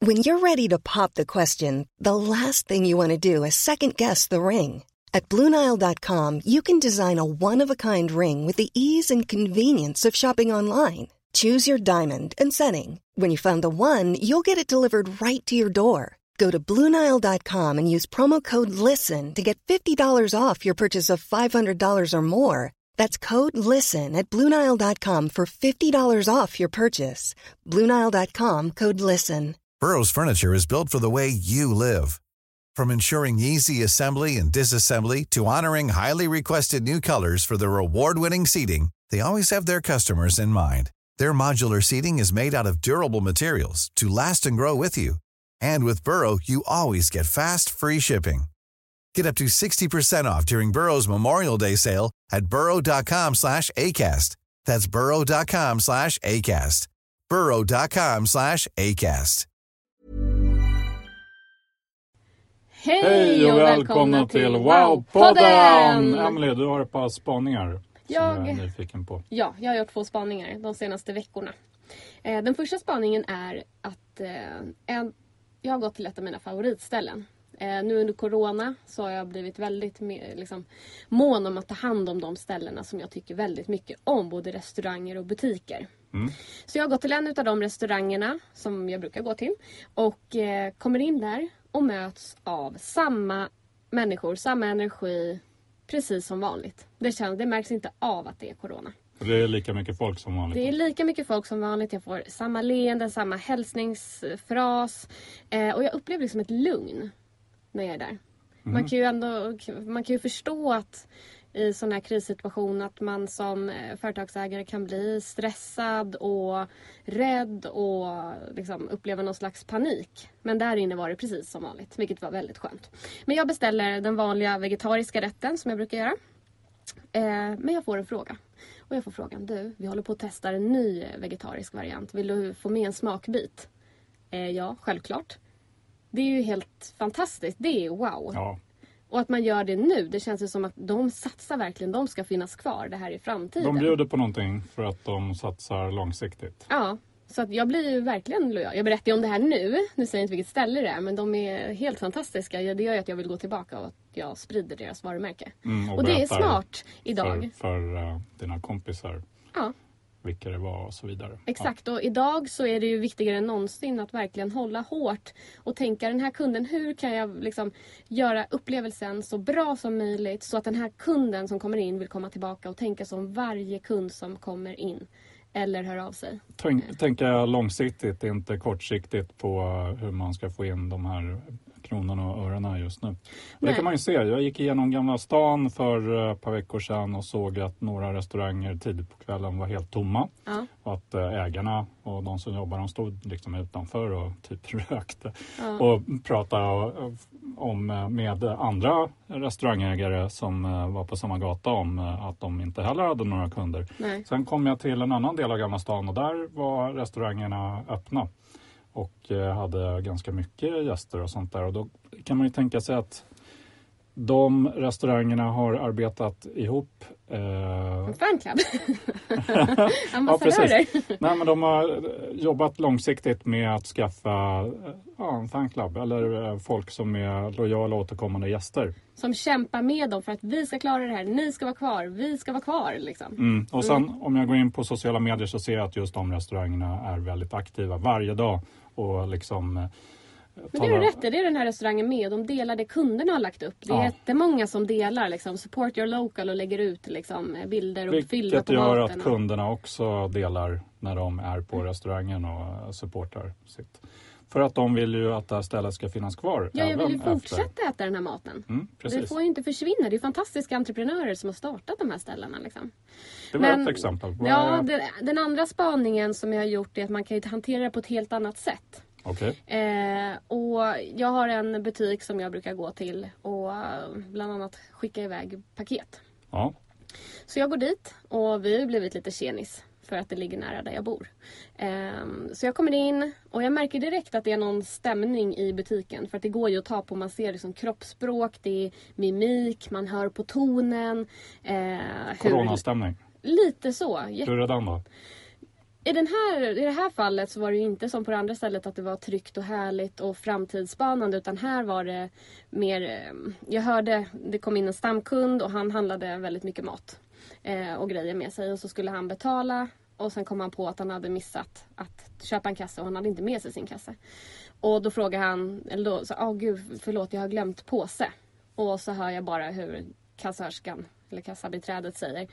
When you're ready to pop the question, the last thing you want to do is second-guess the ring. At BlueNile.com, you can design a one-of-a-kind ring with the ease and convenience of shopping online. Choose your diamond and setting. When you find the one, you'll get it delivered right to your door. Go to BlueNile.com and use promo code LISTEN to get $50 off your purchase of $500 or more. That's code LISTEN at BlueNile.com for $50 off your purchase. BlueNile.com, code LISTEN. Burrow's furniture is built for the way you live. From ensuring easy assembly and disassembly to honoring highly requested new colors for their award-winning seating, they always have their customers in mind. Their modular seating is made out of durable materials to last and grow with you. And with Burrow, you always get fast, free shipping. Get up to 60% off during Burrow's Memorial Day sale at burrow.com/ACAST. That's burrow.com/ACAST. burrow.com/ACAST. Hej och välkomna till Wow-podden! Emily, du har ett par spaningar som jag är nyfiken på. Ja, jag har gjort 2 spaningar de senaste veckorna. Den första spaningen är att jag har gått till ett av mina favoritställen. Nu under corona så har jag blivit väldigt mån om att ta hand om de ställena som jag tycker väldigt mycket om. Både restauranger och butiker. Så jag har gått till en av de restaurangerna som jag brukar gå till. Och kommer in där och möts av samma människor, samma energi. Precis som vanligt. Det märks inte av att det är corona. Det är lika mycket folk som vanligt. Det är lika mycket folk som vanligt. Jag får samma leende, samma hälsningsfras. Och jag upplever liksom ett lugn när jag är där. Man kan ju förstå att i sån här krissituation att man som företagsägare kan bli stressad och rädd och liksom uppleva någon slags panik. Men där inne var det precis som vanligt, vilket var väldigt skönt. Men jag beställer den vanliga vegetariska rätten som jag brukar göra. Men jag får en fråga. Och jag får frågan, vi håller på att testa en ny vegetarisk variant. Vill du få med en smakbit? Ja, självklart. Det är ju helt fantastiskt. Det är wow. Ja. Och att man gör det nu, det känns ju som att de satsar verkligen, de ska finnas kvar det här i framtiden. De bjuder på någonting för att de satsar långsiktigt. Ja, så att jag blir ju verkligen lojal. Jag berättar ju om det här nu säger jag inte vilket ställe det är, men de är helt fantastiska. Det gör ju att jag vill gå tillbaka och att jag sprider deras varumärke. Och det är smart idag. För dina kompisar. Ja. Vilka det var och så vidare. Exakt, och idag så är det ju viktigare än någonsin att verkligen hålla hårt och tänka den här kunden, hur kan jag liksom göra upplevelsen så bra som möjligt så att den här kunden som kommer in vill komma tillbaka och tänka som varje kund som kommer in eller hör av sig. Tänka långsiktigt, inte kortsiktigt på hur man ska få in de här kronorna och öronen just nu. Och det kan man ju se. Jag gick igenom Gamla stan för ett par veckor sedan och såg att några restauranger tidigt på kvällen var helt tomma. Ja. Och att ägarna och de som jobbar, de stod liksom utanför och typ rökte. Ja. Och pratade med andra restaurangägare som var på samma gata om att de inte heller hade några kunder. Nej. Sen kom jag till en annan del av Gamla stan och där var restaurangerna öppna. Och hade ganska mycket gäster och sånt där. Och då kan man ju tänka sig att de restaurangerna har arbetat ihop. Fanclub. Ja, precis. Nej, men de har jobbat långsiktigt med att skaffa en fanclub. Eller folk som är lojala och återkommande gäster. Som kämpar med dem för att vi ska klara det här. Ni ska vara kvar. Vi ska vara kvar. Liksom. Och sen om jag går in på sociala medier så ser jag att just de restaurangerna är väldigt aktiva varje dag. Och liksom... Men det är rätt, det är den här restaurangen med. De delar det kunderna har lagt upp. Det är jättemånga som delar liksom, support your local och lägger ut liksom, bilder och filmer på maten. Vilket gör att kunderna också delar när de är på restaurangen och supportar sitt. För att de vill ju att det här stället ska finnas kvar. Ja, jag vill ju fortsätta äta den här maten. Det får ju inte försvinna. Det är fantastiska entreprenörer som har startat de här ställena. Liksom. Det var ett exempel. Ja, den andra spaningen som jag har gjort är att man kan ju hantera det på ett helt annat sätt. Okay. Och jag har en butik som jag brukar gå till och bland annat skicka iväg paket. Ja. Så jag går dit och vi har blivit lite tjenis för att det ligger nära där jag bor. Så jag kommer in och jag märker direkt att det är någon stämning i butiken. För att det går ju att ta på, man ser liksom kroppsspråk, det är mimik, man hör på tonen. Coronastämning. Lite så. Hur är den då? I det här fallet så var det ju inte som på det andra stället att det var tryggt och härligt och framtidsspanande, utan här var det mer, jag hörde, det kom in en stamkund och han handlade väldigt mycket mat och grejer med sig, och så skulle han betala och sen kom han på att han hade missat att köpa en kasse och han hade inte med sig sin kasse. Och då frågade han, eller då sa, gud förlåt, jag har glömt påse. Och så hör jag bara hur kassörskan eller kassabiträdet säger,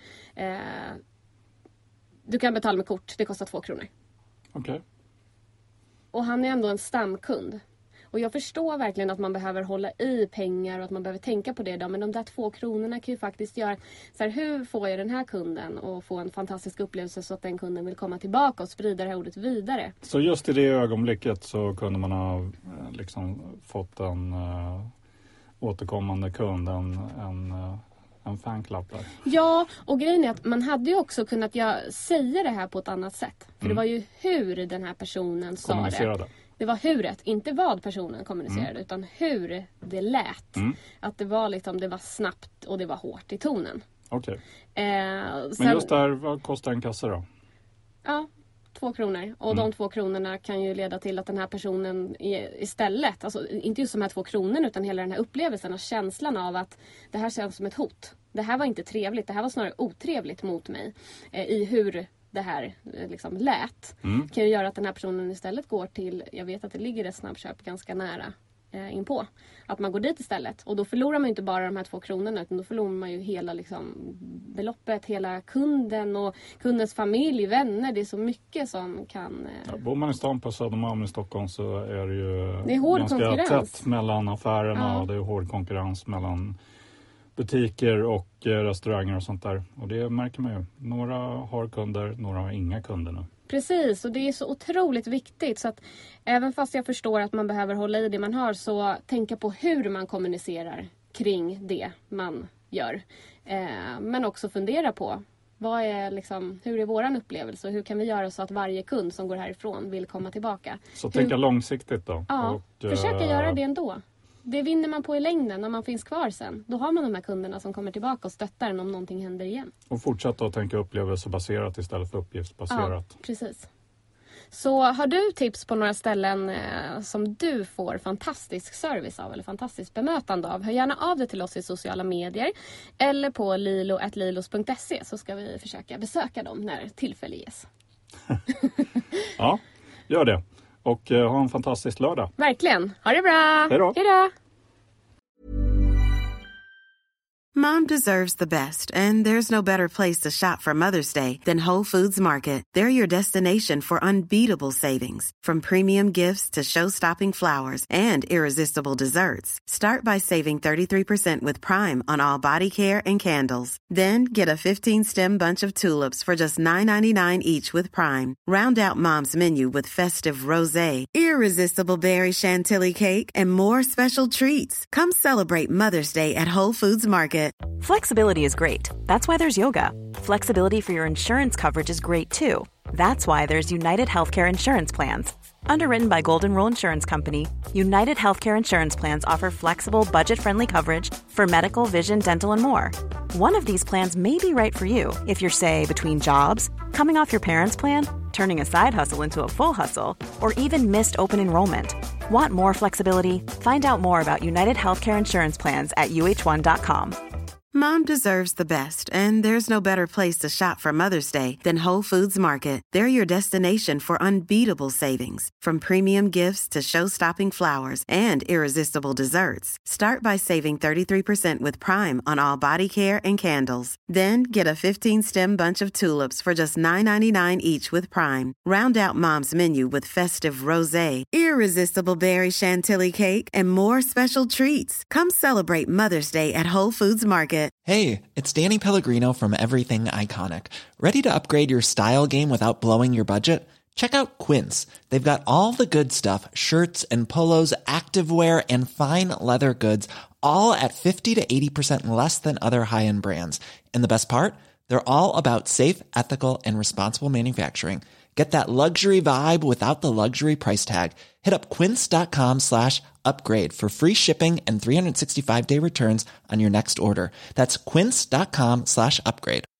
du kan betala med kort, det kostar 2 kronor. Okej. Och han är ändå en stamkund. Och jag förstår verkligen att man behöver hålla i pengar och att man behöver tänka på det då. Men de där 2 kronorna kan ju faktiskt göra, så här, hur får jag den här kunden att få en fantastisk upplevelse så att den kunden vill komma tillbaka och sprida det här ordet vidare. Så just i det ögonblicket så kunde man ha liksom fått en återkommande kund, en fanclub där. Ja, och grejen är att man hade ju också kunnat säga det här på ett annat sätt. För det var ju hur den här personen sa det. Det var huret, inte vad personen kommunicerade, utan hur det lät. Att det var liksom, det var snabbt och det var hårt i tonen. Okej. Men just där, vad kostar en kasse då? Ja, 2 kronor. Och de 2 kronorna kan ju leda till att den här personen istället, alltså inte just de här 2 kronorna utan hela den här upplevelsen och känslan av att det här känns som ett hot. Det här var inte trevligt, det här var snarare otrevligt mot mig i hur det här liksom lät. Kan ju göra att den här personen istället går till, jag vet att det ligger ett snabbköp ganska nära inpå. Att man går dit istället. Och då förlorar man ju inte bara de här 2 kronorna, utan då förlorar man ju hela liksom beloppet, hela kunden och kundens familj, vänner. Det är så mycket som kan... Bor man i stan på Södermalm i Stockholm så är det ju det är hård ganska konkurrens. Tätt mellan affärerna och det är hård konkurrens mellan butiker och restauranger och sånt där. Och det märker man ju. Några har kunder, några har inga kunder nu. Precis, och det är så otroligt viktigt. Så att även fast jag förstår att man behöver hålla i det man har, så tänka på hur man kommunicerar kring det man gör. Men också fundera på vad är liksom, hur är våran upplevelse och hur kan vi göra så att varje kund som går härifrån vill komma tillbaka. Så tänka långsiktigt då. Ja, och försöka göra det ändå. Det vinner man på i längden när man finns kvar sen. Då har man de här kunderna som kommer tillbaka och stöttar en om någonting händer igen. Och fortsätta att tänka upplevelsebaserat istället för uppgiftsbaserat. Ja, precis. Så har du tips på några ställen som du får fantastisk service av eller fantastiskt bemötande av, hör gärna av dig till oss i sociala medier eller på lilo@lilos.se, så ska vi försöka besöka dem när tillfälle ges. Ja, gör det. Och ha en fantastisk lördag. Verkligen. Ha det bra. Hej då. Hej då. Mom deserves the best, and there's no better place to shop for Mother's Day than Whole Foods Market. They're your destination for unbeatable savings, from premium gifts to show-stopping flowers and irresistible desserts. Start by saving 33% with Prime on all body care and candles. Then get a 15-stem bunch of tulips for just $9.99 each with Prime. Round out Mom's menu with festive rosé, irresistible berry chantilly cake, and more special treats. Come celebrate Mother's Day at Whole Foods Market. Flexibility is great. That's why there's yoga. Flexibility for your insurance coverage is great too. That's why there's United Healthcare Insurance Plans. Underwritten by Golden Rule Insurance Company, United Healthcare Insurance Plans offer flexible, budget-friendly coverage for medical, vision, dental, and more. One of these plans may be right for you if you're, say, between jobs, coming off your parents' plan, turning a side hustle into a full hustle, or even missed open enrollment. Want more flexibility? Find out more about United Healthcare Insurance Plans at uh1.com. Mom deserves the best, and there's no better place to shop for Mother's Day than Whole Foods Market. They're your destination for unbeatable savings, from premium gifts to show-stopping flowers and irresistible desserts. Start by saving 33% with Prime on all body care and candles. Then get a 15-stem bunch of tulips for just $9.99 each with Prime. Round out Mom's menu with festive rosé, irresistible berry chantilly cake, and more special treats. Come celebrate Mother's Day at Whole Foods Market. Hey, it's Danny Pellegrino from Everything Iconic. Ready to upgrade your style game without blowing your budget? Check out Quince. They've got all the good stuff, shirts and polos, activewear, and fine leather goods, all at 50 to 80% less than other high-end brands. And the best part? They're all about safe, ethical, and responsible manufacturing. Get that luxury vibe without the luxury price tag. Hit up quince.com/upgrade for free shipping and 365-day returns on your next order. That's quince.com/upgrade.